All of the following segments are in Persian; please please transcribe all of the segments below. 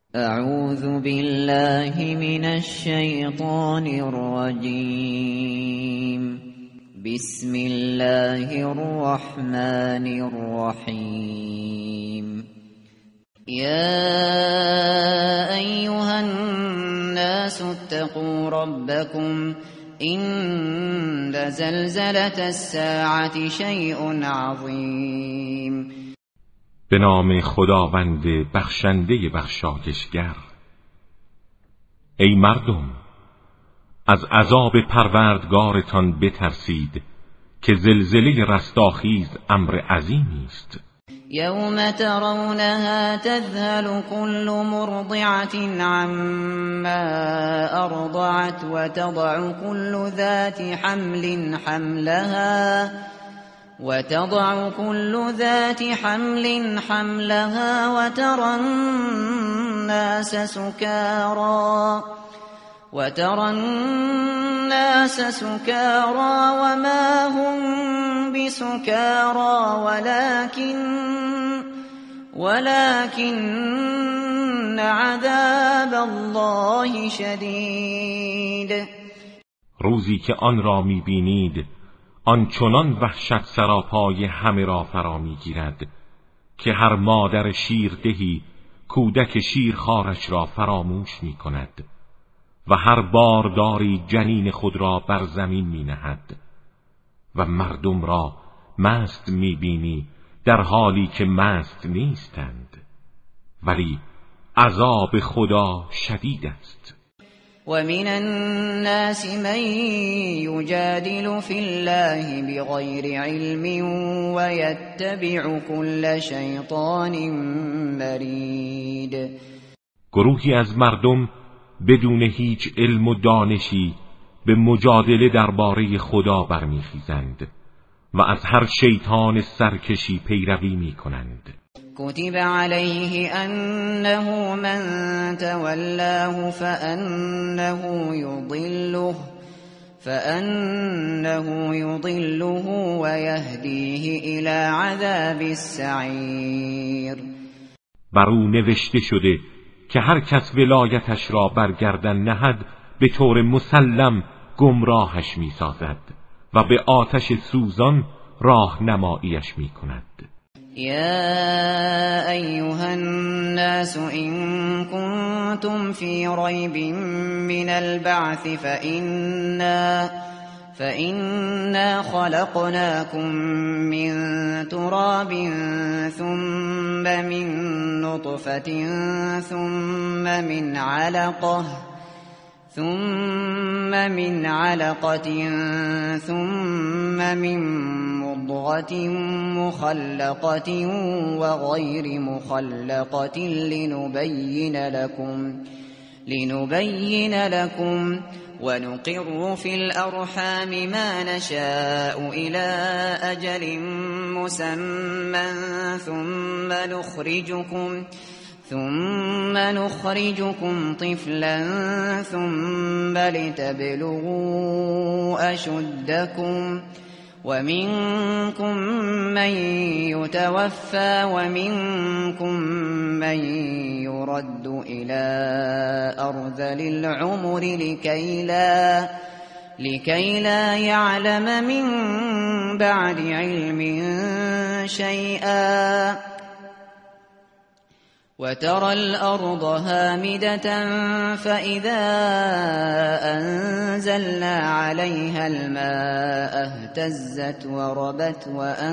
اعوذ بالله من الشیطان الرجیم. بسم الله الرحمن الرحیم. یا ایها الناس اتقوا ربکم ان زلزلة الساعة شیء عظیم. به نام خداوند بخشنده بخشایشگر. ای مردم، از عذاب پروردگارتان بترسید که زلزله رستاخیز امر عظیمی است. یوم ترونها تذهل كل مرضعة عما ارضعت وتضع كل ذات حمل حملها وترى الناس سكارى وما هم بسكارى ولكن عذاب الله شدید. روزی که آن را می‌بینید آنچنان وحشت سراپای همه را فرا می‌گیرد که هر مادر شیردهی کودک شیرخوارش را فراموش می‌کند و هر بارداری جنین خود را بر زمین می‌نهد و مردم را مست می‌بینی در حالی که مست نیستند، ولی عذاب خدا شدید است. ومن الناس من يجادل في الله بغير علم ويتبع كل شيطان مرید. گروهی از مردم بدون هیچ علم و دانشی به مجادله درباره خدا برمیخیزند و از هر شیطان سرکشی پیروی میکنند. كتب عليه أنه من تولاه فأنه يضله ويهديه إلى عذاب السعير. بر او نوشته شده که هر کس ولایتش را بر گردن نهد به طور مسلم گمراهش می‌سازد و به آتش سوزان راهنماییش می‌کند. يا أيها الناس إن كنتم في ريب من البعث فإنا خلقناكم من تراب ثم من نطفة ثم من علقة ثم من مضغة مخلقة وغير مخلقة لنبين لكم ونقر في الأرحام ما نشاء إلى أجل مسمى ثم نخرجكم طفلا ثم لتبلغوا أشدكم ومنكم من يتوفى ومنكم من يرد إلى أرذل العمر لكي لا يعلم من بعد علم شيئا وترى الأرض هامدة فإذا أنزلنا عليها الماء اهتزت وربت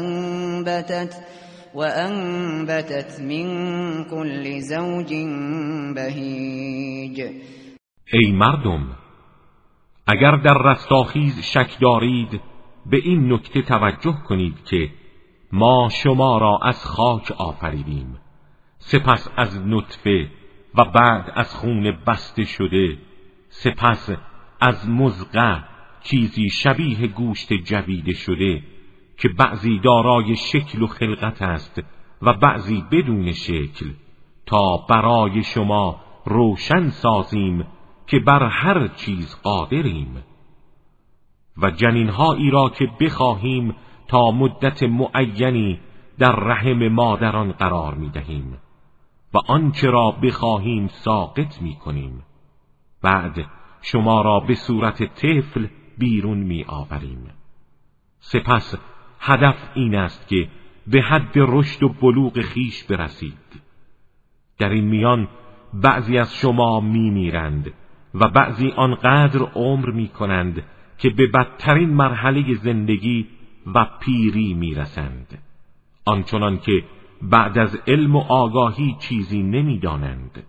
وأنبتت من كل زوج بهیج. ای مردم، اگر در رستاخیز شک دارید به این نکته توجه کنید که ما شما را از خاک آفریدیم، سپس از نطفه و بعد از خون بسته شده، سپس از مضغه چیزی شبیه گوشت جویده شده که بعضی دارای شکل و خلقت است و بعضی بدون شکل، تا برای شما روشن سازیم که بر هر چیز قادریم و جنینهایی را که بخواهیم تا مدت معینی در رحم مادران قرار می‌دهیم و آنچه را بخواهیم ساقط می‌کنیم. بعد شما را به صورت طفل بیرون می‌آوریم. سپس هدف این است که به حد رشد و بلوغ خیش برسید. در این میان بعضی از شما میمیرند و بعضی آنقدر عمر میکنند که به بدترین مرحله زندگی و پیری میرسند، آنچنان که بعد از علم و آگاهی چیزی نمیدانند.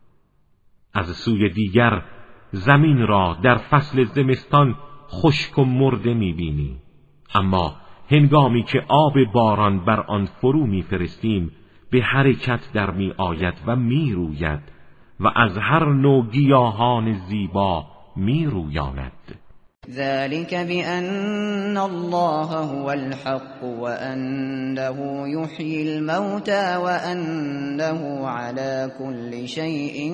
از سوی دیگر زمین را در فصل زمستان خشک و مرده میبینی، اما هنگامی که آب باران بر آن فرو میفرستیم به حرکت در می آید و می روید و از هر نوع گیاهان زیبا می رویاند. ذلك بأن الله هو الحق وأنه يحيي الموتى وأنه على كل شيء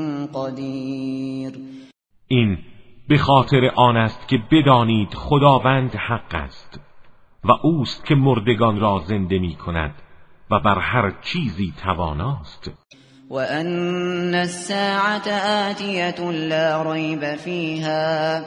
قدير. این به خاطر آن است که بدانید خداوند حق است و اوست که مردگان را زنده می کند و بر هر چیزی تواناست. وأن الساعة آتية لا ريب فيها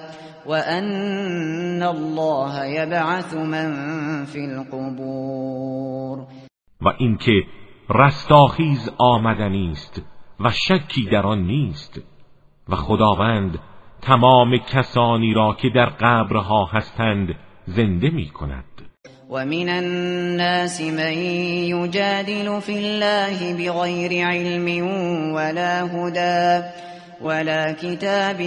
وأن الله يبعث من في القبور. و اینکه رستاخیز آمدنی است و شکی در آن نیست و خداوند تمام کسانی را که در قبرها هستند زنده می کند. ومن الناس من يجادل في الله بغير علم ولا هدى ولا کتاب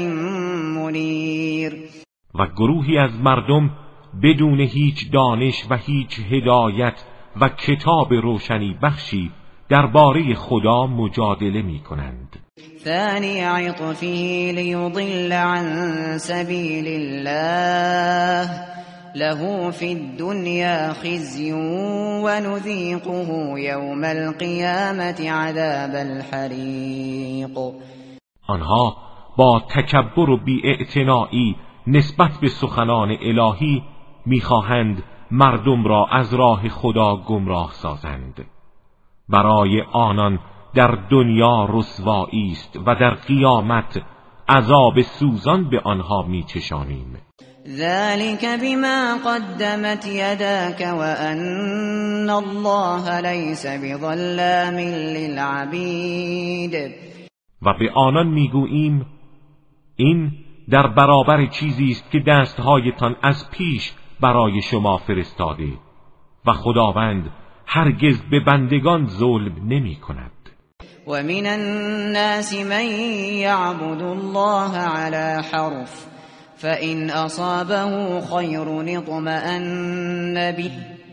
منیر. و گروهی از مردم بدون هیچ دانش و هیچ هدایت و کتاب روشنی بخشی درباره خدا مجادله می کنند. ثانی عطفه لیضل عن سبیل الله له فی الدنیا خزی و نذیقه یوم القیامة عذاب الحریق. آنها با تکبر و بی‌اعتنایی نسبت به سخنان الهی می‌خواهند مردم را از راه خدا گمراه سازند. برای آنان در دنیا رسوایی است و در قیامت عذاب سوزان به آنها می‌چشانیم. ذلك بما قدمت يداك وأن الله ليس بظلام للعبید. و به آنان میگوییم این در برابر چیزی است که دستهایتان از پیش برای شما فرستاده و خداوند هرگز به بندگان ظلم نمی کند. و من الناس من یعبد الله على حرف فإن أصابه خير اطمأن به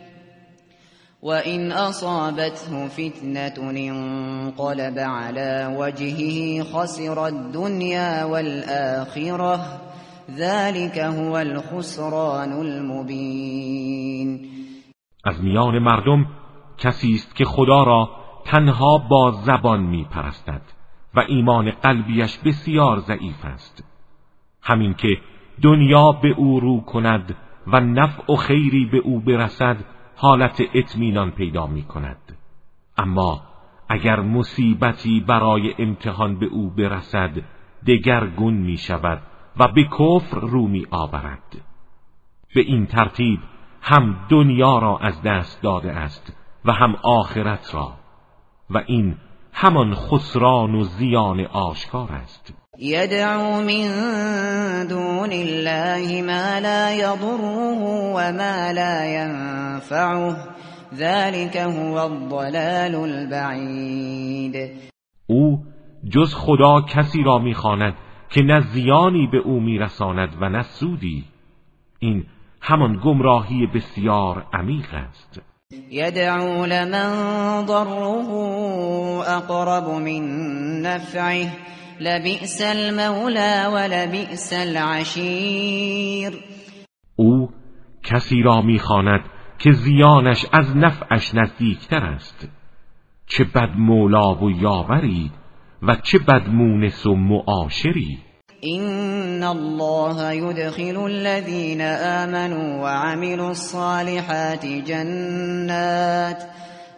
وإن أصابته فتنة انقلب على وجهه خسر الدنيا والآخرة ذلك هو الخسران المبين. از میان مردم کسی است که خدا را تنها با زبان می پرستد و ایمان قلبیش بسیار ضعیف است. همین که دنیا به او رو کند و نفع و خیری به او برسد حالت اطمینان پیدا می کند، اما اگر مصیبتی برای امتحان به او برسد دگرگون می شود و به کفر رو می آورد. به این ترتیب هم دنیا را از دست داده است و هم آخرت را و این همان خسران و زیان آشکار است. يدعو من دون الله ما لا يضره وما لا ينفعه ذلك هو الضلال البعید. او جز خدا کسی را می‌خواند که نه زیانی به او میرساند و نه سودی. این همان گمراهی بسیار عمیق است. يدعو لمن ضره اقرب من نفعه لبئس المولى ولبئس العشیر. او کسی را می‌خواند که زیانش از نفعش نزدیکتر است. چه بد مولا و یاوری و چه بد مونس و معاشری. إن الله يدخل الذين آمنوا وعملوا الصالحات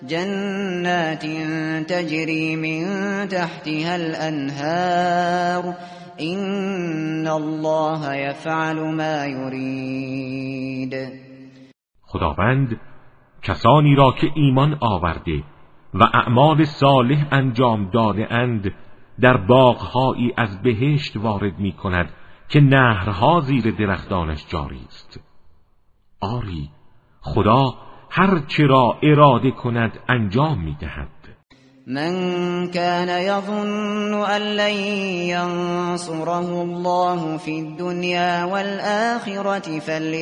جنات تجری من تحتها الانهار این الله یفعل ما یرید. خداوند کسانی را که ایمان آورده و اعمال صالح انجام داده اند در باغ‌هایی از بهشت وارد می کند که نهرها زیر درختانش جاری است. آری خدا هر چه را اراده کند انجام می دهد. من كان يظن أن لن ينصره الله في الدنيا والآخرة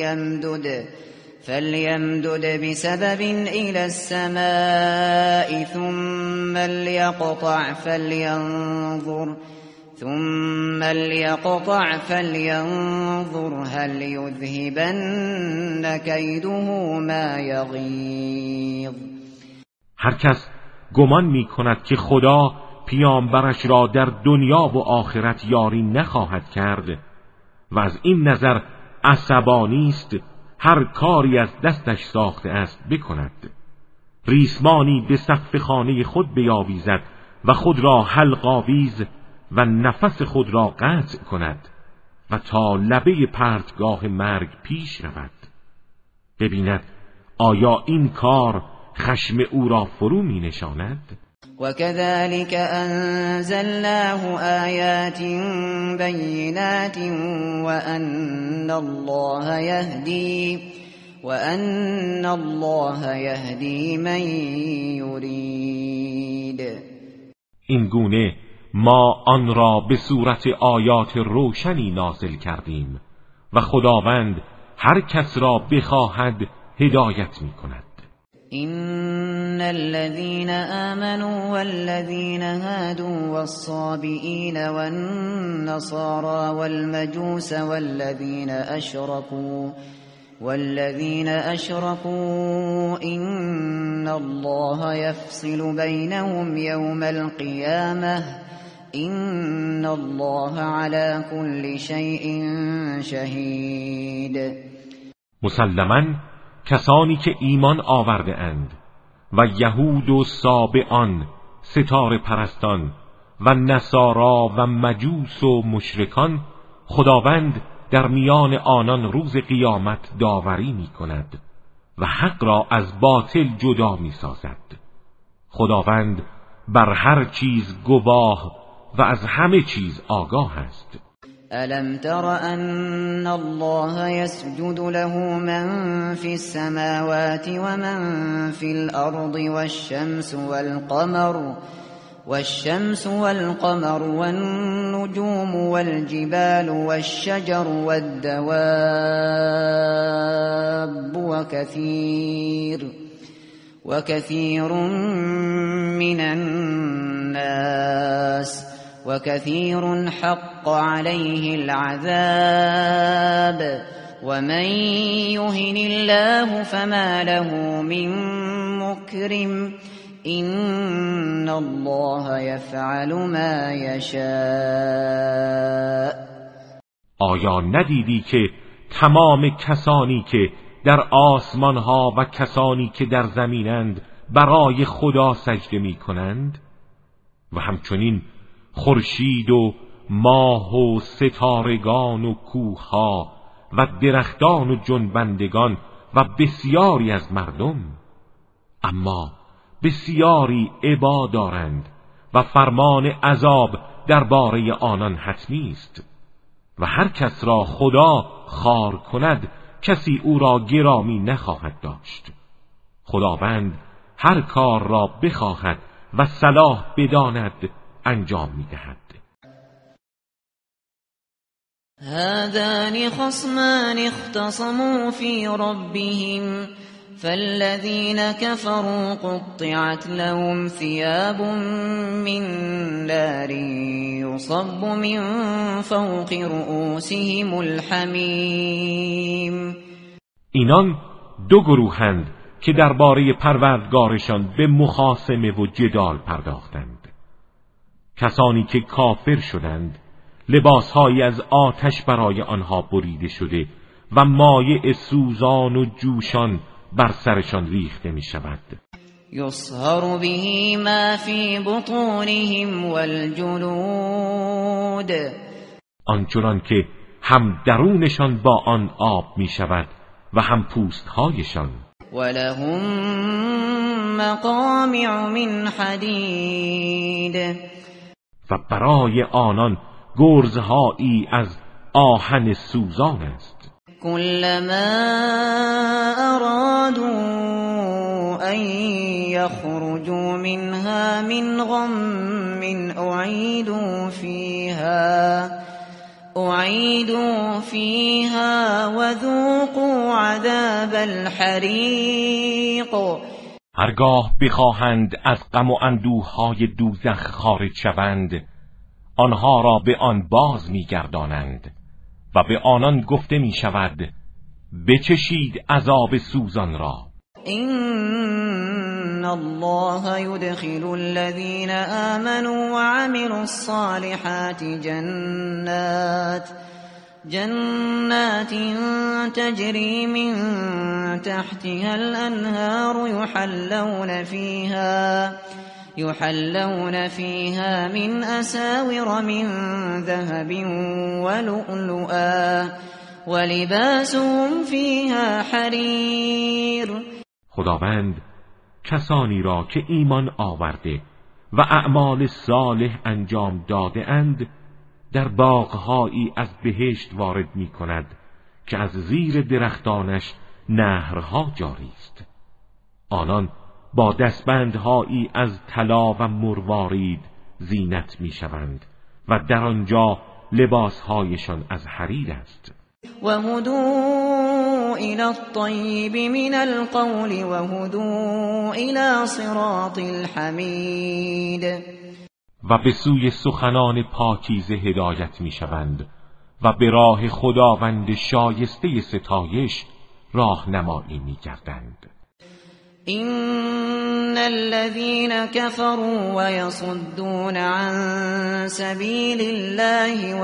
فليمدد بسبب إلى السماء ثم ليقطع فلينظر هل يذهبن كيده ما يغيظ. هر کس گمان می کند که خدا پیامبرش را در دنیا و آخرت یاری نخواهد کرد و از این نظر عصبانی است هر کاری از دستش ساخته است بکند، ریسمانی به سقف خانه خود بیاویزد و خود را حلق آویز و نفس خود را قطع کند و تا لبه پرتگاه مرگ پیش رود، ببیند آیا این کار خشم او را فرو می نشاند؟ وكذلك أنزلناه آيات بينات وأن الله يهدي من يريد. این گونه ما آن را به صورت آیات روشنی نازل کردیم و خداوند هر کس را بخواهد هدایت می کند. إن الذين آمنوا والذين هادوا والصابئين والنصارى والمجوس والذين أشركوا إن الله يفصل بينهم يوم القيامة إن الله على كل شيء شهيد. مسلماً کسانی که ایمان آورده اند و یهود و سابئان، ستاره پرستان و نصارا و مجوس و مشرکان، خداوند در میان آنان روز قیامت داوری می کند و حق را از باطل جدا می سازد. خداوند بر هر چیز گواه و از همه چیز آگاه است. ألم تر أن الله يسجد له من في السماوات ومن في الأرض والشمس والقمر والنجوم والجبال والشجر والدواب وكثير من الناس وكثير حق عليه العذاب ومن يهن الله فما له من مكرم إن الله يفعل ما يشاء. آیا ندیدی که تمام کسانی که در آسمان ها و کسانی که در زمینند برای خدا سجده می کنند و همچنین خورشید و ماه و ستارگان و کوه‌ها و درختان و جنبندگان و بسیاری از مردم، اما بسیاری ابا دارند و فرمان عذاب درباره آنان حتمی است و هر کس را خدا خوار کند کسی او را گرامی نخواهد داشت. خداوند هر کار را بخواهد و صلاح بداند انجام می‌دهد. هذان خصمان اختصموا في ربهم فالذين كفروا قطعت لهم ثياب من نار يصب من فوق رؤوسهم الحمیم. اینان دو گروهند که درباره پروردگارشان به مخاصمه و جدال پرداختند. کسانی که کافر شدند لباسهایی از آتش برای آنها بریده شده و مایع سوزان و جوشان بر سرشان ریخته می شود. يصهر به ما في بطونهم والجلود آنچنان که هم درونشان با آن آب می شود و هم پوستهایشان. ولهم مقامع من حدید و برای آنان گرزهایی از آهن سوزان است. كلما أرادوا أن يخرجوا منها من غم أعيدوا فيها وذوقوا عذاب الحریق. هرگاه بخواهند از غم و اندوههای دوزخ خارج شوند، آنها را به آن باز می‌گردانند و به آنان گفته می شود بچشید عذاب سوزان را. إن الله يدخل الذين آمنوا وعملوا الصالحات جنات تجري من تحتها الأنهار يحلون فيها من أساور من ذهب ولؤلؤا ولباسهم فيها حرير. خداوند کسانی را که ایمان آورده و اعمال صالح انجام داده اند در باغهایی از بهشت وارد می کند که از زیر درختانش نهرها جاری است. آنان با دستبندهایی از طلا و مروارید زینت می شوند و در آنجا لباسهایشان از حریر است. وهدوا إلى الطيب من القول وهدوا إلى صراط الحمید. و به سوی سخنان پاکیزه هدایت می شوند و به راه خداوند شایسته ستایش راهنمایی می گردند. إن الذين كفروا ويصدون عن سبيل الله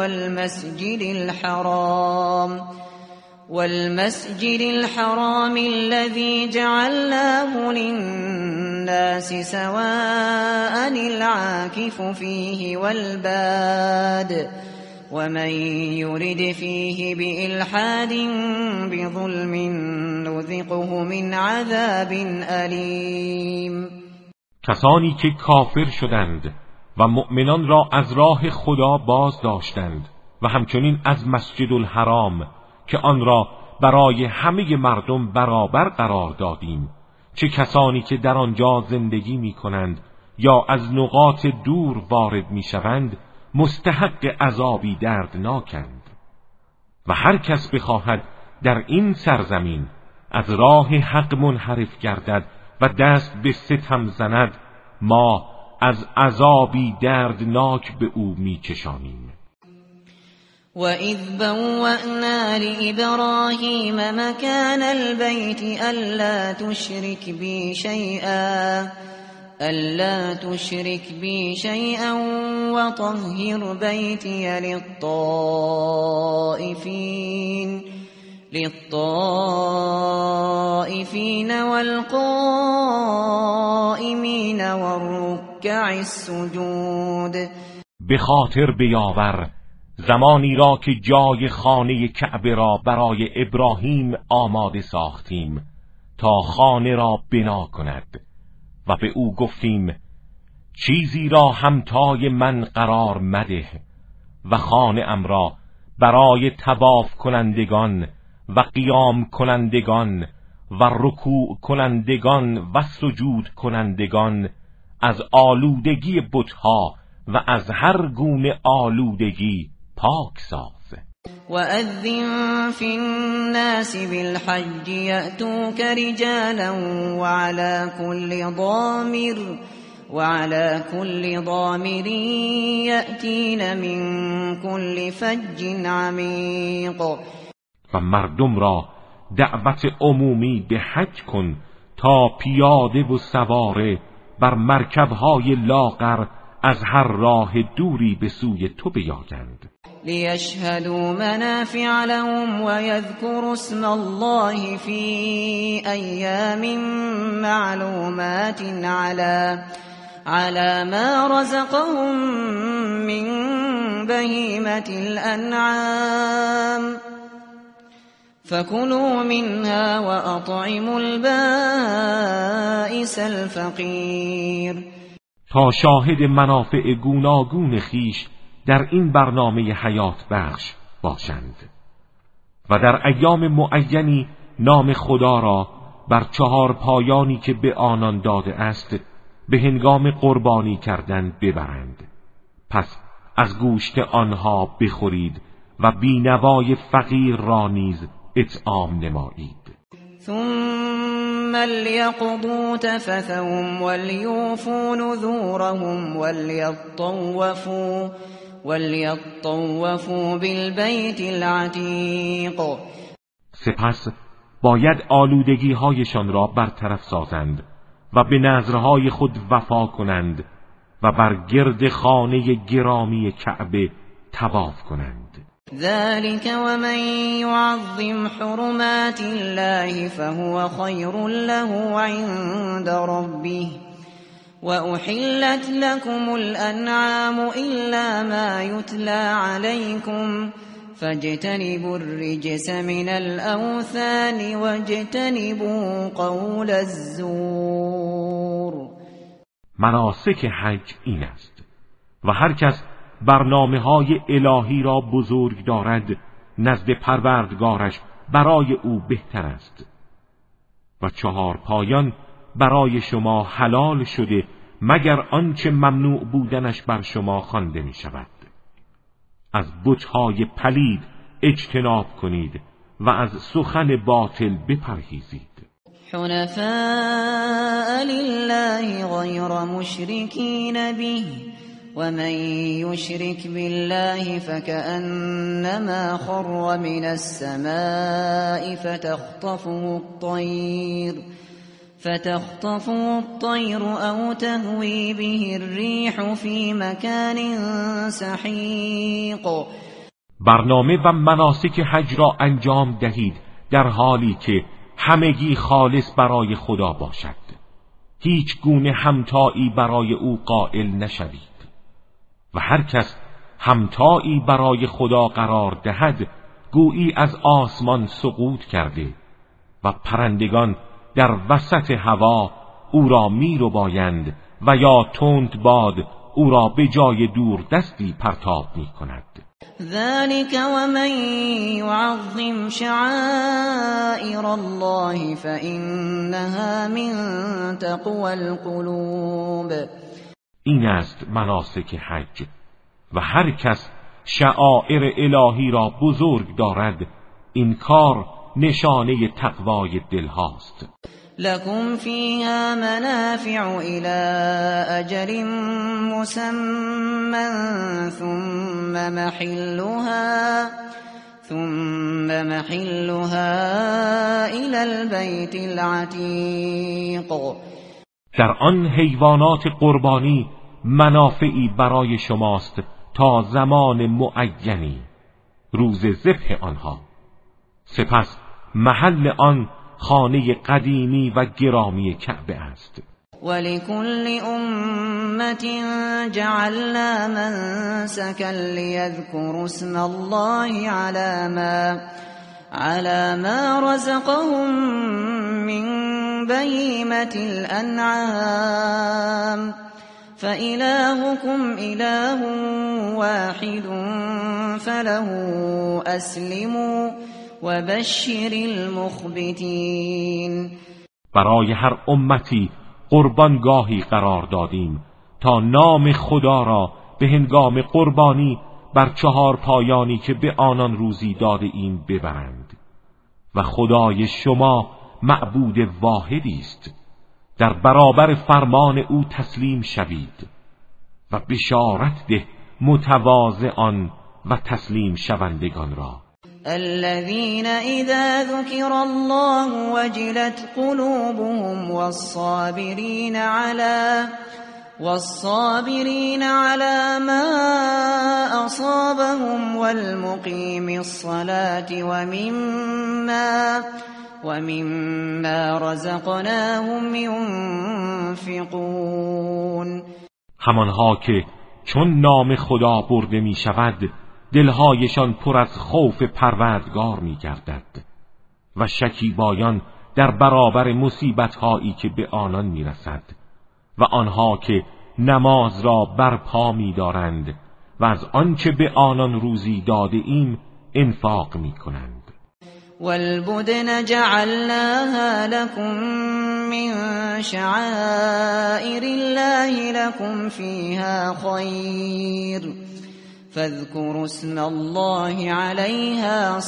والمسجد الحرام الذي جعلناه للناس سواء العاكف فيه والباد ومن يرد فيه بإلحاد بظلم نذقه من عذاب ألیم. کسانی که کافر شدند و مؤمنان را از راه خدا باز داشتند و همچنین از مسجد الحرام که آن را برای همه مردم برابر قرار دادیم، چه کسانی که در آنجا زندگی می کنند یا از نقاط دور وارد می شوند مستحق عذابی دردناکند. و هر کس بخواهد در این سرزمین از راه حق منحرف گردد و دست به ستم زند، ما از عذابی دردناک به او میچشانیم. وَإِذْ بَوَّأْنَا لِإِبْرَاهِيمَ مَكَانَ الْبَيْتِ أَلَّا تُشْرِكْ بِي شَيْئًا وَطَهِّرْ بَيْتِيَ لِلطَّائِفِينَ وَالْقَائِمِينَ وَالرُّكَّعِ السُّجُودِ. به خاطر بیاور زمانی را که جای خانه کعبه را برای ابراهیم آماده ساختیم تا خانه را بنا کند و به او گفتیم چیزی را همتای من قرار مده و خانه ام را برای طواف کنندگان و قیام کنندگان و رکوع کنندگان و سجود کنندگان از آلودگی بتها و از هر گونه آلودگی پاک ساز. وَأَذِّن فِي النَّاسِ بِالْحَجِّ يَأْتُوكَ رِجَالًا وَعَلَى كُلِّ ضَامِرٍ يَأْتِينَ مِنْ كُلِّ فَجٍّ عَمِيقٍ. و مردم را دعوت عمومی به حج کن تا پیاده و سواره بر مرکبهای لاغر از هر راه دوری به سوی تو بیایند. ليشهدوا منافع لهم ويذكروا اسم الله في أيام معلومات على ما رزقهم من بهيمة الأنعام فكلوا منها وأطعموا البائس الفقیر. تا شاهد منافع گوناگون خیش در این برنامه حیات بخش باشند و در ایام معینی نام خدا را بر 4 پایانی که به آنان داده است به هنگام قربانی کردن ببرند. پس از گوشت آنها بخورید و بینوای فقیر را نیز اطعام نمایید. ثم ليقضوا تفثهم وليوفوا نذورهم وليطوفوا بالبيت العتیق. سپس باید آلودگی هایشان را برطرف سازند و به نذرهای خود وفا کنند و بر گرد خانه گرامی کعبه طواف کنند. ذلك ومن يعظم حرمات الله فهو خير له عند ربه وأحلت لكم الأنعام إلا ما يتلى عليكم فاجتنبوا الرجس من الأوثان واجتنبوا قول الزور. مناسک حج این است و هر کس برنامه‌های الهی را بزرگ دارد نزد پروردگارش برای او بهتر است و 4 پایان برای شما حلال شده مگر آنچه ممنوع بودنش بر شما خوانده می شود. از بت‌های پلید اجتناب کنید و از سخن باطل بپرهیزید. حنفاء لله غیر مشرکین به ومن يشرك بالله فكأنما خر من السماء فتخطفه الطير أو تهوي به الريح في مكان سحيق. برنامه و مناسک حج را انجام دهید در حالی که همگی خالص برای خدا باشد. هیچ گونه همتایی برای او قائل نشوید و هر کس همتایی برای خدا قرار دهد گویی از آسمان سقوط کرده و پرندگان در وسط هوا او را میرو بایند و یا تند باد او را به جای دور دستی پرتاب می کند. ذلك ومن يعظم شعائر الله فإنها من تقوى القلوب. این است مناسک حج و هر کس شعائر الهی را بزرگ دارد این کار نشانه تقوای دل هاست. لكم فيها منافع إلى أجل مسمى ثم محلها إلى البيت العتيق. در آن حیوانات قربانی منافعی برای شماست تا زمان معینی، روز ذبح آنها. سپس محل آن خانه قدیمی و گرامی کعبه است. ولكل أمة جعلنا منسكا ليذكروا اسم الله على ما رزقهم من بهيمة الأنعام فإلهكم إله واحد فله أسلموا وبشر المخبتين. برای هر امتی قربانگاهی قرار دادیم تا نام خدا را به هنگام قربانی بر 4 پایانی که به آنان روزی داده ایم ببرند و خدای شما معبود واحدی است. در برابر فرمان او تسلیم شوید و بشارت ده متواضعان و تسلیم شوندگان را. الذين إذا ذكر الله وجلت قلوبهم والصابرين على ما أصابهم والمقيم الصلاة ومما رزقناهم ينفقون. همانها که چون نام خدا برده می شود دلهایشان پر از خوف پروردگار می گردد و شکیبایان در برابر مصیبت‌هایی که به آنان می رسد و آنها که نماز را برپا می دارند و از آنچه به آنان روزی داده ایم انفاق می کنند. والبدن جعلناها لكم من شعائر الله لكم فيها خير فاذكروا اسم الله عليها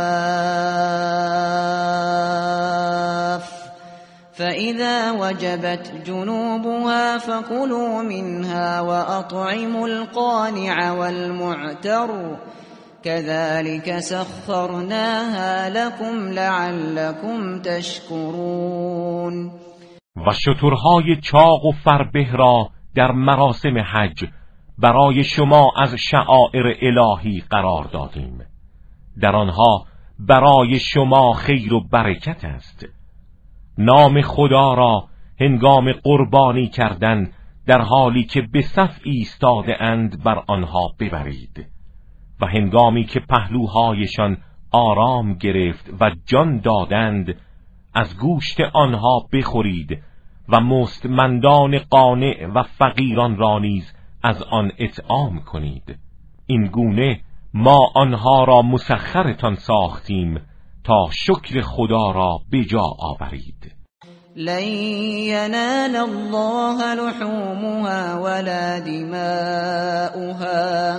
صواف فإذا وجبت جنوبها فكلوا منها وأطعموا القانع والمعتر كذلك سخرناها لكم لعلكم تشكرون. و شترهای چاق و فربه را در مراسم حج برای شما از شعائر الهی قرار دادیم. در آنها برای شما خیر و برکت است. نام خدا را هنگام قربانی کردن در حالی که به صف ایستاده اند بر آنها ببرید و هنگامی که پهلوهایشان آرام گرفت و جان دادند از گوشت آنها بخورید و مستمندان قانع و فقیران را نیز از آن اطعام کنید. این گونه ما آنها را مسخرتان ساختیم تا شکر خدا را به جا آورید. لن ينال الله لحومها ولا دماؤها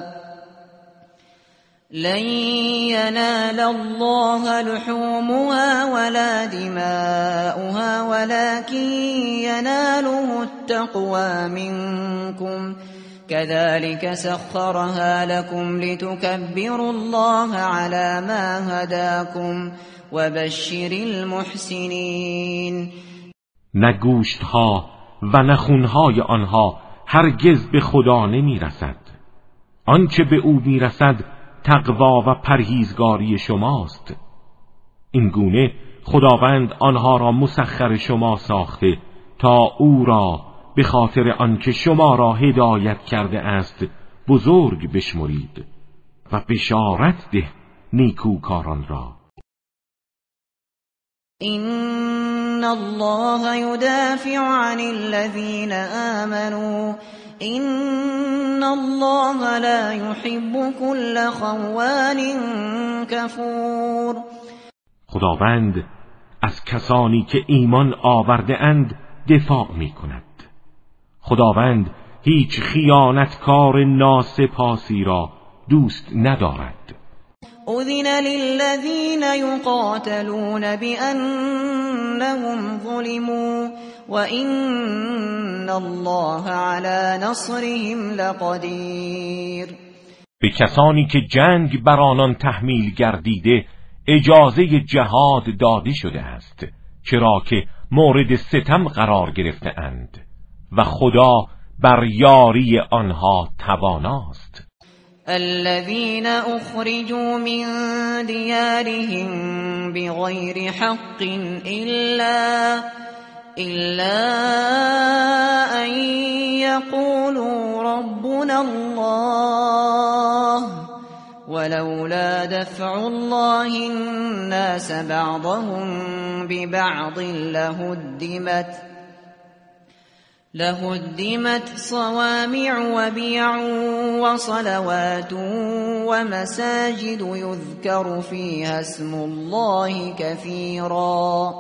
لن ينال الله لحومها ولا دماؤها ولكن يناله التقوى منكم كذلك سخرها لكم لتكبروا الله على ما هداكم وبشر المحسنين. نه گوشتها و نه خونهای آنها هرگز به خدا نمی رسد. آنچه به او می رسد تقوا و پرهیزگاری شماست. این گونه خداوند آنها را مسخر شما ساخته تا او را به خاطر آنکه شما را هدایت کرده است بزرگ بشمرید و بشارت ده نیکوکاران را. إن الله يدافع عن الذين آمنوا إن الله لا يحب كل خوان كفور. خداوند از کسانی که ایمان آورده اند دفاع می کند. خداوند هیچ خیانتکار ناسپاسی را دوست ندارد. أذن للذين يقاتلون بأنهم ظلموا وإن الله على نصرهم لقدیر. به کسانی که جنگ بر آنان تحمیل گردیده اجازه جهاد داده شده است، چرا که مورد ستم قرار گرفته اند و خدا بر یاری آنها تواناست. الذين أخرجوا من ديارهم بغير حق إلا أن يقولوا ربنا الله ولولا دفع الله الناس بعضهم ببعض لهدمت صوامع وبيع وصلوات ومساجد يذكر فيها اسم الله كثيرا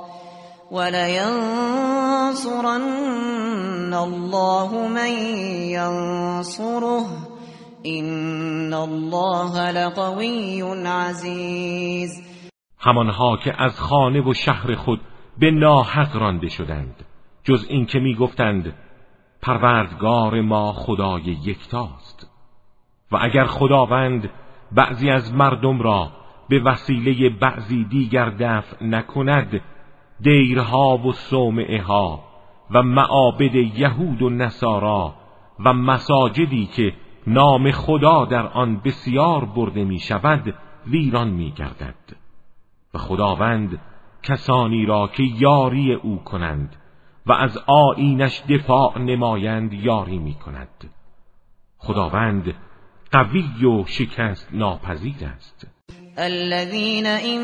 ولينصرن الله من ينصره إن الله لقوي عزيز. همانها که از خانه و شهر خود به ناحق رانده شدند، جز این که می گفتند پروردگار ما خدای یکتاست. و اگر خداوند بعضی از مردم را به وسیله بعضی دیگر دفع نکند، دیرها و صومعه ها و معابد یهود و نصارا و مساجدی که نام خدا در آن بسیار برده می شود ویران می گردد. و خداوند کسانی را که یاری او کنند و از آیینش دفاع نمایند یاری می کند. خداوند قوی و شکست ناپذیر است. الذين إن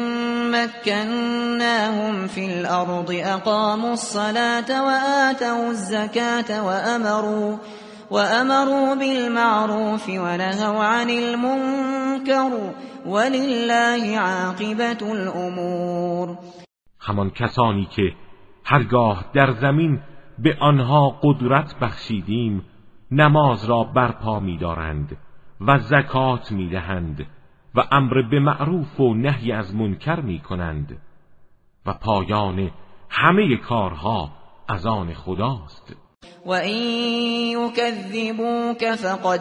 مكناهم في الأرض أقاموا الصلاة وآتوا الزكاة وأمروا بالمعروف ونهوا عن المنكر ولله عاقبة الأمور. همان کسانی که هرگاه در زمین به آنها قدرت بخشیدیم نماز را برپا می‌دارند و زکات می‌دهند و امر به معروف و نهی از منکر می‌کنند و پایان همه کارها از آن خداست. و این یکذبوک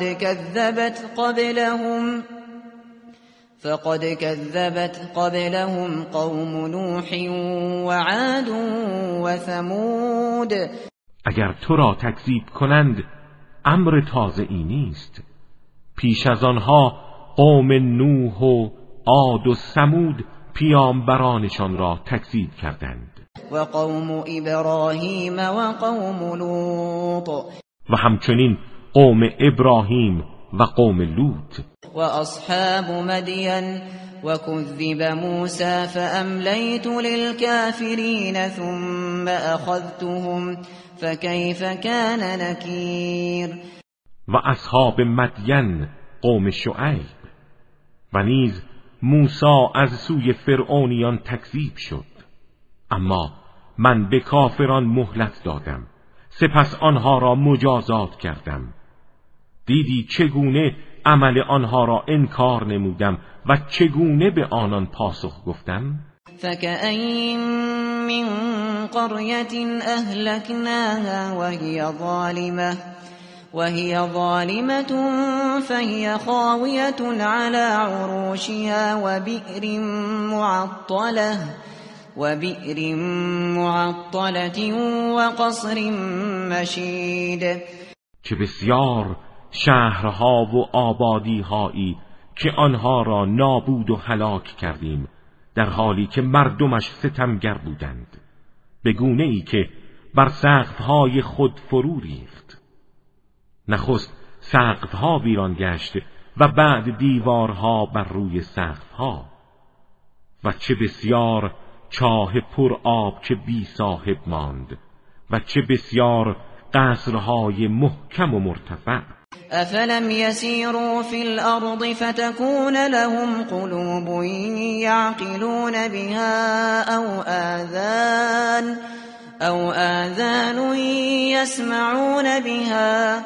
فقد كذبت قبلهم قوم نوح و عاد و ثمود. اگر تو را تکذیب کنند امر تازه ای نیست. پیش از آنها قوم نوح و عاد و ثمود پیامبرانشان را تکذیب کردند. و قوم ابراهیم و قوم لوط. و همچنین قوم ابراهیم و قوم لوط. و اصحاب مدین و کذب موسی فاملیت للکافرین ثم اخذتهم فکیف کان نکیر. و اصحاب مدین قوم شعیب. و نیز موسی از سوی فرعونیان تکذیب شد، اما من به کافران مهلت دادم، سپس آنها را مجازات کردم. دیدی چگونه عمل آنها را انکار نمودم و چگونه به آنان پاسخ گفتم. فکأین من قرية أهلكناها وهي ظالمة فهي خاوية على عروشها وبئر معطلة وقصر مشید. چه بسیار شهرها و آبادی‌هایی که آنها را نابود و هلاک کردیم در حالی که مردمش ستمگر بودند، به گونه‌ای که بر سقف‌های خود فرو ریخت. نخست سقف‌ها ویران گشت و بعد دیوارها بر روی سقف‌ها. و چه بسیار چاه پر آب که بی صاحب ماند و چه بسیار قصرهای محکم و مرتفع. افلم يسيروا في الارض فتكون لهم قلوب يعقلون بها او آذان يسمعون بها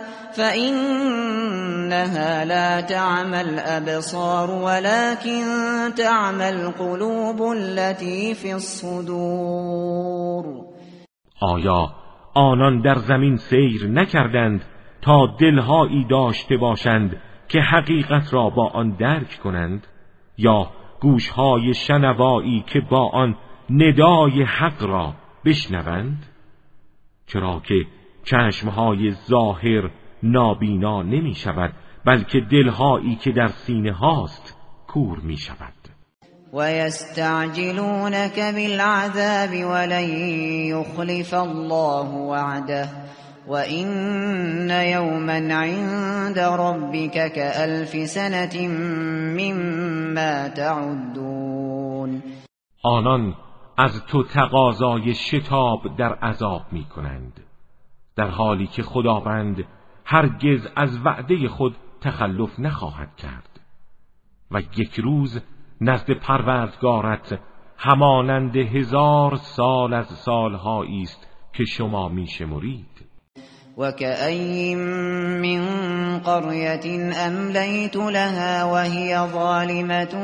فإنها لا تعمى الأبصار ولكن تعمى القلوب التي في الصدور. آیا آنان در زمین سیر نکردند تا دلهایی داشته باشند که حقیقت را با آن درک کنند، یا گوشهای شنوایی که با آن ندای حق را بشنوند؟ چرا که چشمهای ظاهر نابینا نمی شود، بلکه دلهایی که در سینه هاست کور می شود. وَيَسْتَعْجِلُونَكَ بِالْعَذَابِ وَلَنْ يُخْلِفَ اللَّهُ وَعْدَهُ وَإِنَّ يَوْمًا عِندَ رَبِّكَ كَأَلْفِ سَنَةٍ مِّمَّا تَعُدُّونَ. آنان از تو تقاضای شتاب در عذاب می کنند، در حالی که خداوند هرگز از وعده خود تخلف نخواهد کرد و یک روز نزد پروردگارت همانند 1000 سال از سالهایی است که شما میشمرید. وَكَأَيِّن مِّن قَرْيَةٍ أَمْلَيْتُ لَهَا وَهِيَ ظَالِمَةٌ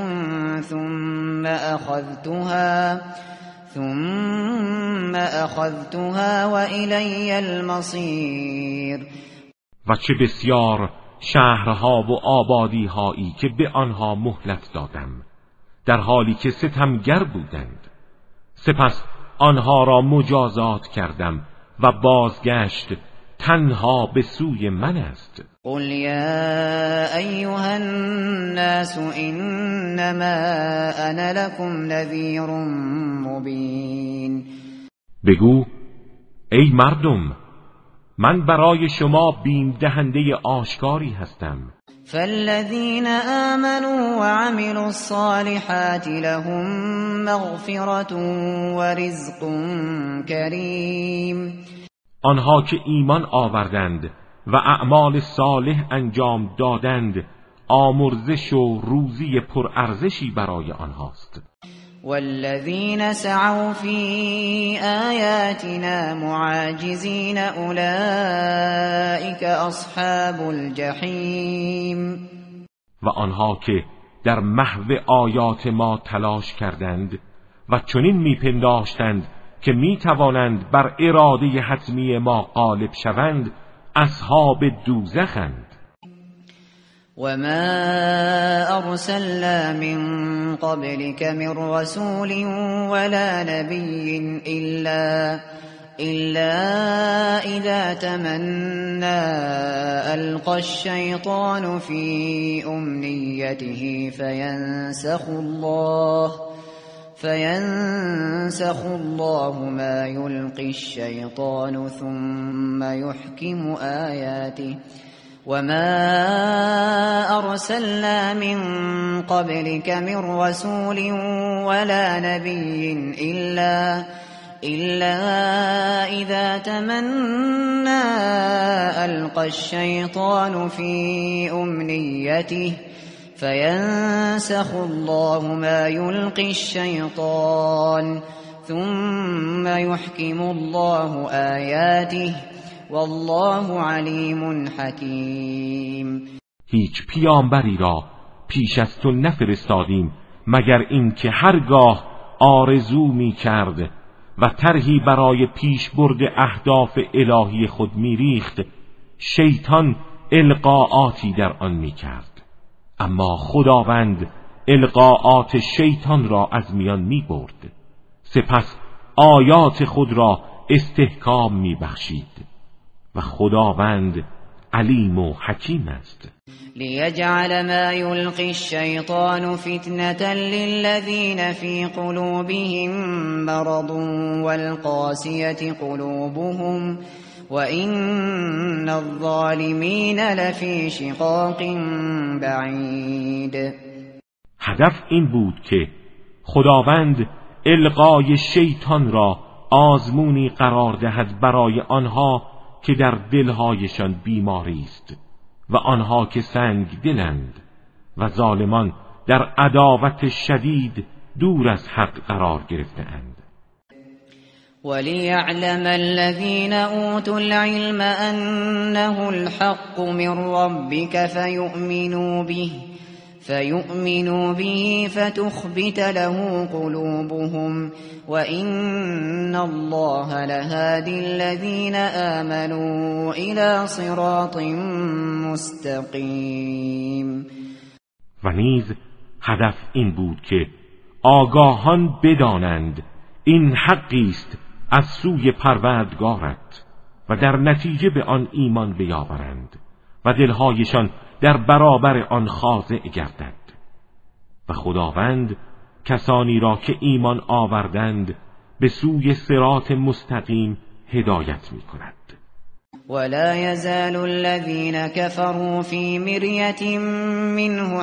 ثُمَّ أَخَذْتُهَا وَإِلَيَّ الْمَصِيرُ. و چه بسیار شهرها و آبادی‌هایی که به آنها مهلت دادم در حالی که ستمگر بودند، سپس آنها را مجازات کردم و بازگشت تنها به سوی من است. قل یا ایها الناس انما انا لكم نذیر مبین. بگو ای مردم، من برای شما بیم دهنده آشکاری هستم. فالذین آمنوا وعملوا الصالحات لهم مغفرة ورزق کریم. آنها که ایمان آوردند و اعمال صالح انجام دادند، آمرزش و روزی پرارزشی برای آنهاست. والذین سعوا فی آیاتنا معاجزین اولئک اصحاب الجحیم. و آنها که در محو آیات ما تلاش کردند و چنین میپنداشتند که میتوانند بر اراده حتمی ما غالب شوند، اصحاب دوزخند. وما ارسلنا من قبلك من رسول ولا نبي إلا إذا تمنى ألقى الشيطان في أمنيته فينسخ الله ما يلقي الشيطان ثم يحكم آياته. وما أرسلنا من قبلك من رسول ولا نبي إلا إذا تمنى ألقى الشيطان في أمنيته فينسخ الله ما يلقي الشيطان ثم يحكم الله آياته والله علیم حکیم. هیچ پیامبری را پیش از تو نفرستادیم مگر اینکه هرگاه آرزو می کرد و طرحی برای پیش برد اهداف الهی خود می ریخت، شیطان القاعاتی در آن می کرد، اما خداوند القاعات شیطان را از میان می برد، سپس آیات خود را استحکام می بخشید و خداوند علیم و حکیم است. لیجعل ما یلقی الشیطان فتنة للذین فی قلوبهم مرض والقاسیة قلوبهم وإن الظالمین لفی شقاق بعید. هدف این بود که خداوند القای شیطان را آزمونی قرار دهد برای آنها که در دلهایشان بیماری است و آنها که سنگ دلند و ظالمان در عداوت شدید دور از حق قرار گرفته‌اند. وَلِيَعْلَمَ الَّذِينَ أُوتُوا الْعِلْمَ أَنَّهُ الْحَقُّ مِنْ رَبِّكَ فَيُؤْمِنُوا بِهِ فَتُخْبِتَ لَهُ قُلُوبُهُمْ وَإِنَّ اللَّهَ لَهَادِي الَّذِينَ آمَنُوا إِلَى صِرَاطٍ مُسْتَقِيمٍ. و نیز هدف این بود که آگاهان بدانند این حقی است از سوی پروردگارت و در نتیجه به آن ایمان بیاورند و دلهایشان در برابر آن خاضع گردد و خداوند کسانی را که ایمان آوردند به سوی صراط مستقیم هدایت می کند. ولا يزال الذين كفروا في مرية منه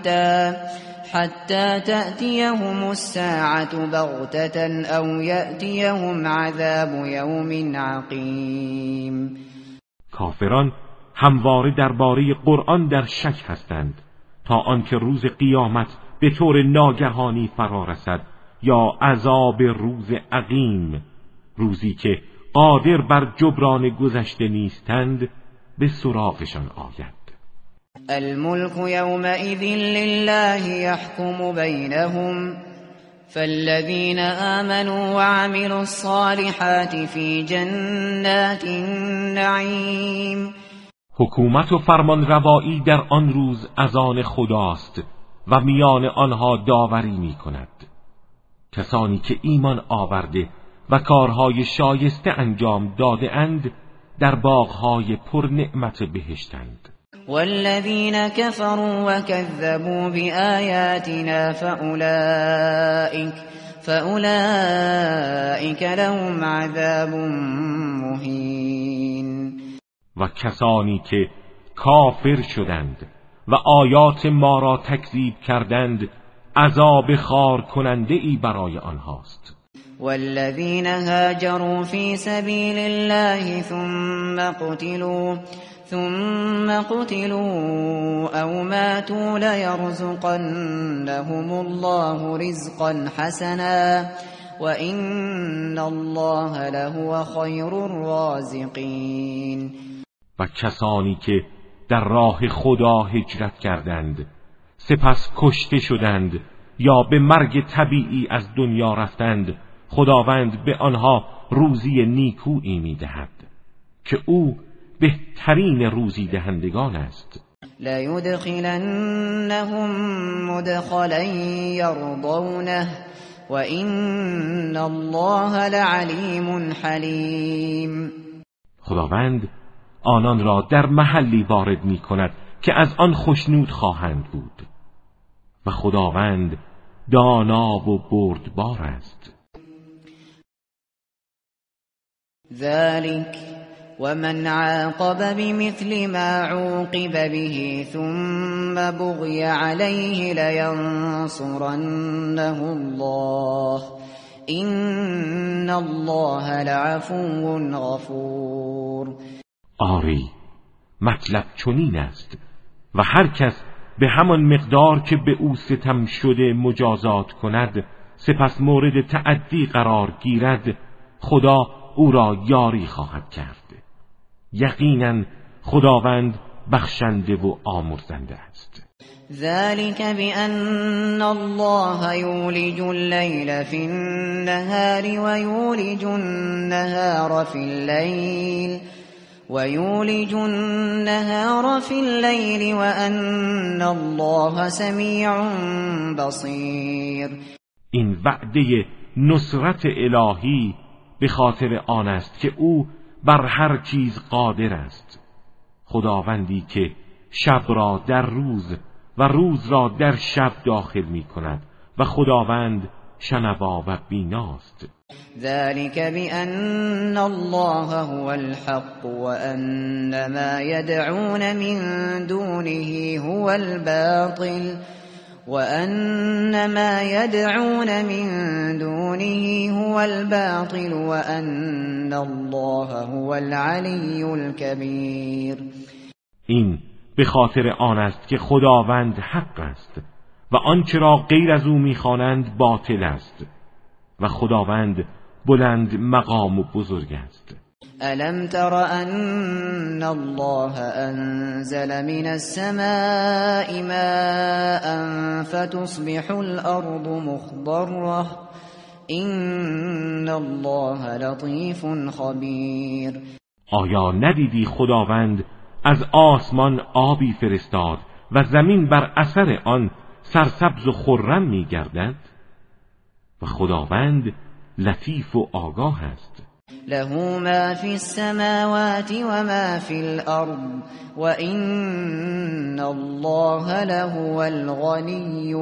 حتى تأتيهم الساعة بغتة أو يأتيهم عذاب يوم عقيم. کافران همواره درباره قرآن در شک هستند تا آنکه روز قیامت به طور ناگهانی فرا رسد یا عذاب روز عقیم، روزی که قادر بر جبران گذشته نیستند، به سراغشان آید. الملك يومئذ لله يحكم بينهم فالذين آمنوا وعملوا الصالحات في جنات النعيم. حکومت و فرمانروایی در آن روز از آن خداست و میان آنها داوری می کند. کسانی که ایمان آورده و کارهای شایسته انجام داده اند در باغهای پر نعمت بهشتند. والذین کفروا وکذبوا بآیاتنا فأولئک لهم عذاب مهین. و کسانی که کافر شدند و آیات ما را تکذیب کردند عذاب خار کننده ای برای آنهاست. والذین هاجروا فی سبیل الله ثم قتلوا او ماتوا لیرزقنهم الله رزقا حسنا وان الله لهو خیر الرازقین. و کسانی که در راه خدا هجرت کردند سپس کشته شدند یا به مرگ طبیعی از دنیا رفتند، خداوند به آنها روزی نیکویی می‌دهد که او بهترین روزی دهندگان است. لَيُدْخِلَنَّهُمْ مُدْخَلًا يَرْضَوْنَهُ وَإِنَّ اللَّهَ لَعَلِيمٌ حَلِيمٌ. خداوند آنان را در محلی وارد می‌کند که از آن خوشنود خواهند بود و خداوند دانا و بردبار است. ذلك ومن عاقب بمثل ما عوقب به ثم بغي عليه لينصرنه الله إن الله لعفو غفور. آری مطلب چنین است و هر کس به همان مقدار که به او ستم شده مجازات کند سپس مورد تعدی قرار گیرد خدا او را یاری خواهد کرد. یقینا خداوند بخشنده و آمرزنده است. ذلك بأن الله يولج الليل في النهار ويولج النهار في الليل وأن الله سميع بصير. این وعده نصرت الهی به خاطر آن است که او بر هر چیز قادر است، خداوندی که شب را در روز و روز را در شب داخل می کند و خداوند شنوا و بیناست. ذلك بأن الله هو الحق وأن ما يدعون من دونه هو الباطل وأن الله هو العلی الكبیر. این به خاطر آن است که خداوند حق است و آنچه را غیر از او می‌خوانند باطل است و خداوند بلند مقام و بزرگ است. الم تر ان الله انزل من السماء ماء فتصبح الارض مخضرة این الله لطیف خبیر. آیا ندیدی خداوند از آسمان آبی فرستاد و زمین بر اثر آن سرسبز و خرم می‌گردد و خداوند لطیف و آگاه است. له ما فی السماوات و ما فی الارض و این الله لهو الغنی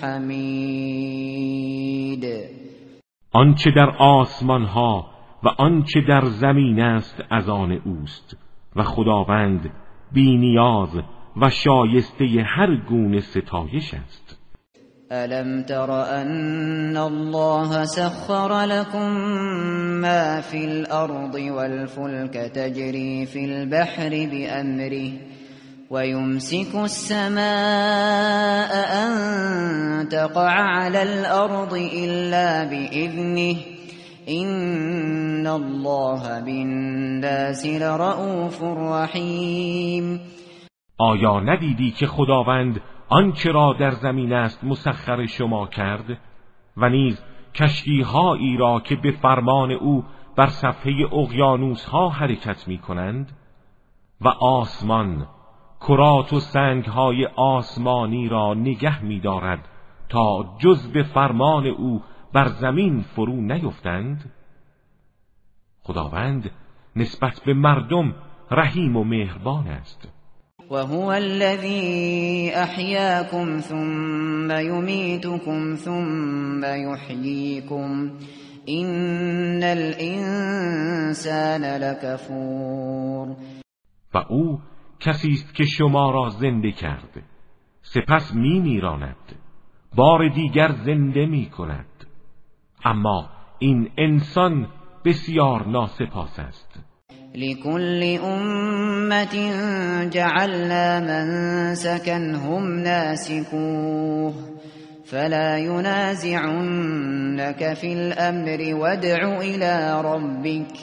الحمید. آنچه در آسمان ها و آنچه در زمین است از آن اوست و خداوند بی نیاز و شایسته هر گونه ستایش است. الم تر ان الله سخر لكم ما في الارض والفلك تجري في البحر بأمره ويمسك السماء ان تقع على الارض الا بإذنه این الله بالناس لرؤوف رحیم. آیا ندیدی که خداوند آنچه را در زمین است مسخر شما کرد و نیز کشتی‌هایی را که به فرمان او بر صفحه اقیانوس‌ها حرکت می‌کنند و آسمان کرات و سنگ‌های آسمانی را نگه می‌دارد تا جز به فرمان او بر زمین فرو نیفتند؟ خداوند نسبت به مردم رحیم و مهربان است. وهو الذي أحياكم ثم يميتكم ثم يحييكم إن الإنسان لكفور. و او کسی است که شما را زنده کرد، سپس میمیراند، بار دیگر زنده میکند. اما این انسان بسیار ناسپاس است. لكل أمة جعلنا منسكا هم ناسكوه فلا ينازعنك في الأمر وادع إلى ربك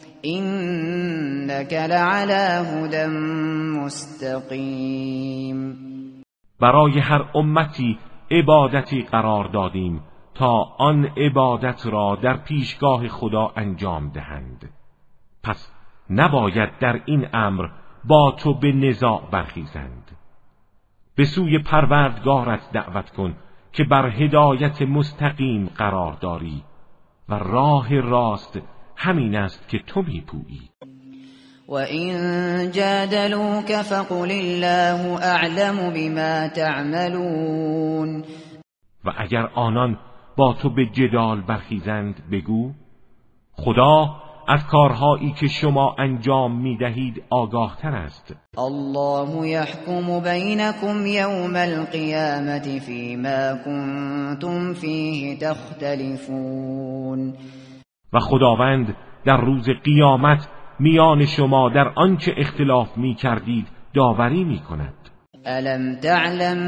إنك لعلى هدى مستقیم. برای هر امتی عبادتی قرار دادیم تا آن عبادت را در پیشگاه خدا انجام دهند. پس نباید در این امر با تو به نزاع برخیزند. به سوی پروردگارت دعوت کن که بر هدایت مستقیم قرار داری و راه راست همین است که تو میپویی. وَإِن جَادَلُوكَ فَقُلِ اللَّهُ أَعْلَمُ بِمَا تَعْمَلُونَ. و اگر آنان با تو به جدال برخیزند بگو خدا از کارهایی که شما انجام میدهید آگاه تر است. الله يحكم بينكم يوم القيامة فيما كنتم فيه تختلفون. و خداوند در روز قیامت میان شما در آنچه اختلاف میکردید داوری میکند. ألم تعلم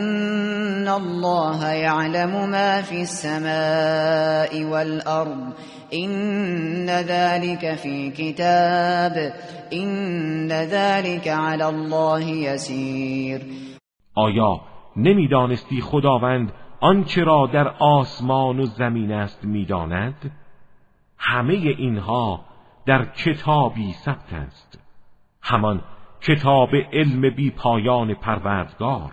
أن الله يعلم ما في السماء والأرض إن ذلك في كتاب إن ذلك على الله يسير. آیا نمیدانستی خداوند آنچه را در آسمان و زمین است میداند؟ همه اینها در کتابی ثبت است، همان کتاب علم بی پایان پروردگار،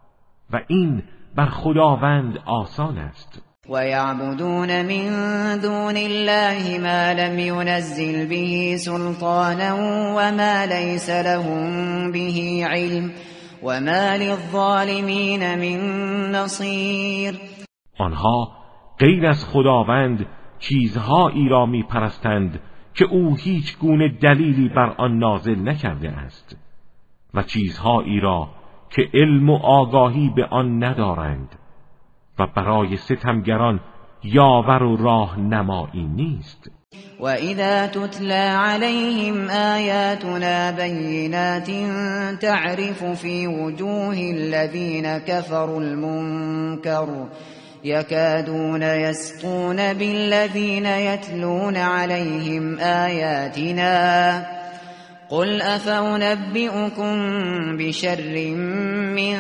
و این بر خداوند آسان است. وَيَعْبُدُونَ مِن دُونِ اللَّهِ مَا لَمْ يُنَزِّلْ بِهِ سُلْطَانًا وَمَا لَيْسَ لَهُم بِهِ عِلْمٌ وَمَا لِلظَّالِمِينَ مِن نَّصِيرٍ. آنها غیر از خداوند چیزهایی را می‌پرستند که او هیچ گونه دلیلی بر آن نازل نکرده است و چیزهایی را که علم و آگاهی به آن ندارند و برای ستمگران یاور و راه نمایی نیست. وَإِذَا تُتْلَى عَلَيْهِمْ آيَاتُنَا بَيِّنَاتٍ تَعْرِفُ فِي وُجُوهِ الَّذِينَ كَفَرُوا الْمُنكَرَ يَكَادُونَ يَسْطُونَ بِالَّذِينَ يَتْلُونَ عَلَيْهِمْ آيَاتِنَا قُلْ أَفَأُنَبِّئُكُم بِشَرٍّ مِّن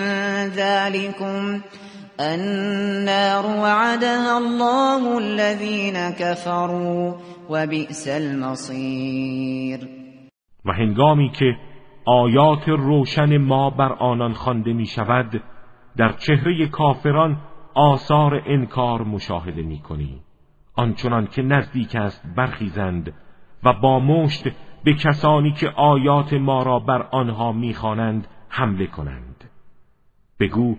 ذَلِكُمْ النَّارُ وَعَدَهَا اللَّهُ الَّذِينَ كَفَرُوا وَبِئْسَ الْمَصِيرُ. و هنگامی که آیات روشن ما بر آنان خوانده می شود در چهره کافران آثار انکار مشاهده می کنی، آنچنان که نزدیک است برخیزند و با مشت به کسانی که آیات ما را بر آنها می خوانند حمله کنند. بگو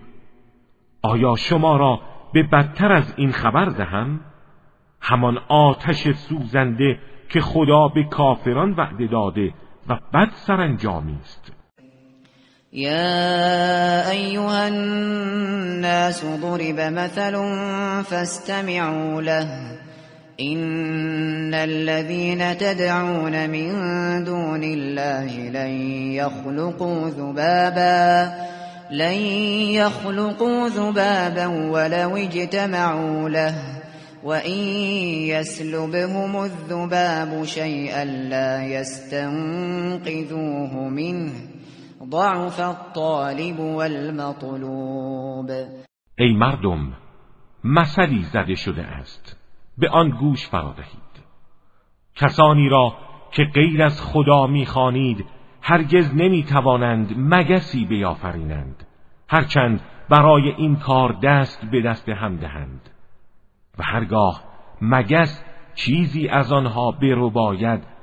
آیا شما را به بدتر از این خبر دهم؟ همان آتش سوزنده که خدا به کافران وعده داده و بد سرانجامی است. يا أيها الناس ضرب مثل فاستمعوا له إن الذين تدعون من دون الله لن يخلقوا ذبابا ولو اجتمعوا له وإن يسلبهم الذباب شيئا لا يستنقذوه منه ضعف الطالب والمطلوب. ای مردم، مثلی زده شده است، به آن گوش فرا دهید. کسانی را که غیر از خدا می‌خوانید هرگز نمی‌توانند مگسی بیافرینند، هرچند برای این کار دست به دست هم دهند، و هرگاه مگس چیزی از آنها برباید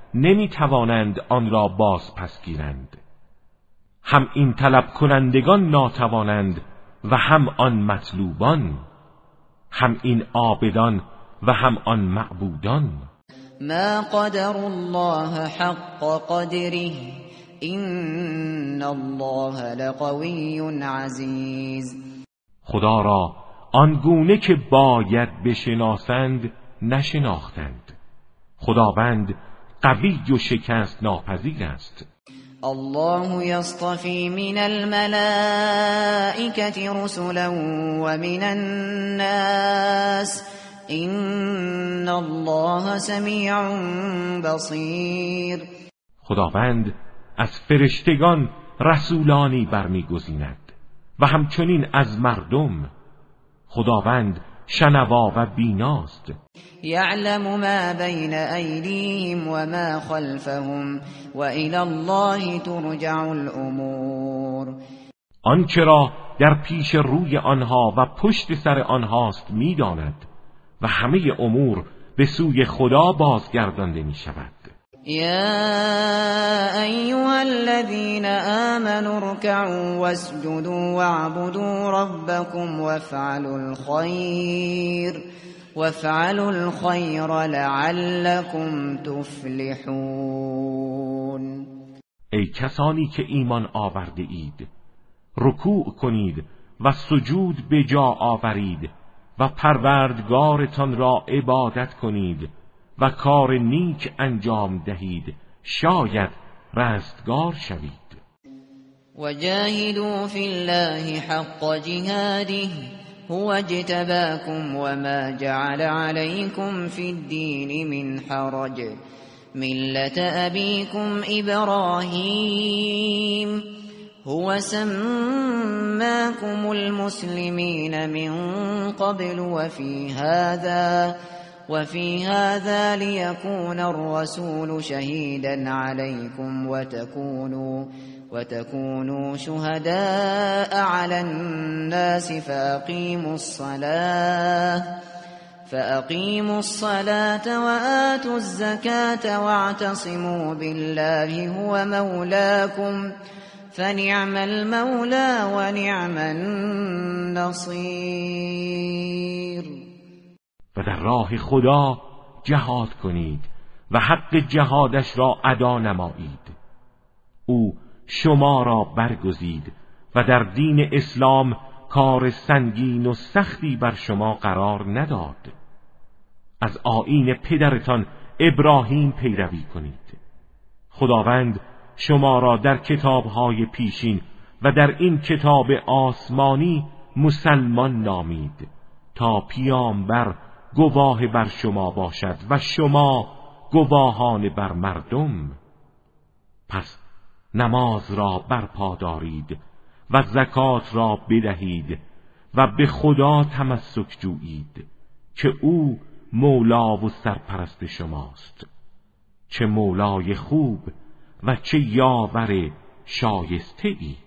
نمی توانند آن را باز پس گیرند. هم این طلب کنندگان ناتوانند و هم آن مطلوبان، هم این عابدان و هم آن معبودان. ما قدر الله حق قدره این الله لقوی عزیز. خدا را آنگونه که باید بشناسند نشناختند. خداوند قوی و شکست ناپذیر است. الله يصطفي من الملائكة رسلا ومن الناس إن الله سميع بصير. خداوند از فرشتگان رسولانی برمیگزیند و همچنین از مردم. خداوند شنوا و بیناست. يعلم ما بين أيديهم وما خلفهم وإلى الله ترجع الأمور. آنچه را در پیش روی آنها و پشت سر آنهاست می‌داند و همه امور به سوی خدا بازگردانده می‌شود. يا أيها الذين آمنوا اركعوا واسجدوا واعبدوا ربكم وافعلوا الخير لعلكم تفلحون. ای کسانی که ایمان آورده اید، رکوع کنید و سجود به جا آورید و پروردگارتان را عبادت کنید و کار نیک انجام دهید، شاید رستگار شوید. وجاهدوا فی الله حق جهاده هو اجتباكم وما جعل عليكم في الدين من حرج ملة أبيكم إبراهيم هو سماكم المسلمين من قبل وفي هذا ليكون الرسول شهيدا عليكم وتكونوا شهداء على الناس فأقيموا الصلاة وآتوا الزكاة واعتصموا بالله هو مولاكم فنعم المولى ونعم النصير. و در راه خدا جهاد کنید و حق جهادش را ادا نمایید. او شما را برگزید و در دین اسلام کار سنگین و سختی بر شما قرار نداد. از آیین پدرتان ابراهیم پیروی کنید. خداوند شما را در کتاب‌های پیشین و در این کتاب آسمانی مسلمان نامید تا پیامبر گواه بر شما باشد و شما گواهان بر مردم. پس نماز را برپا دارید و زکات را بدهید و به خدا تمسک جویید که او مولا و سرپرست شماست. چه مولای خوب و چه یاور شایسته ای.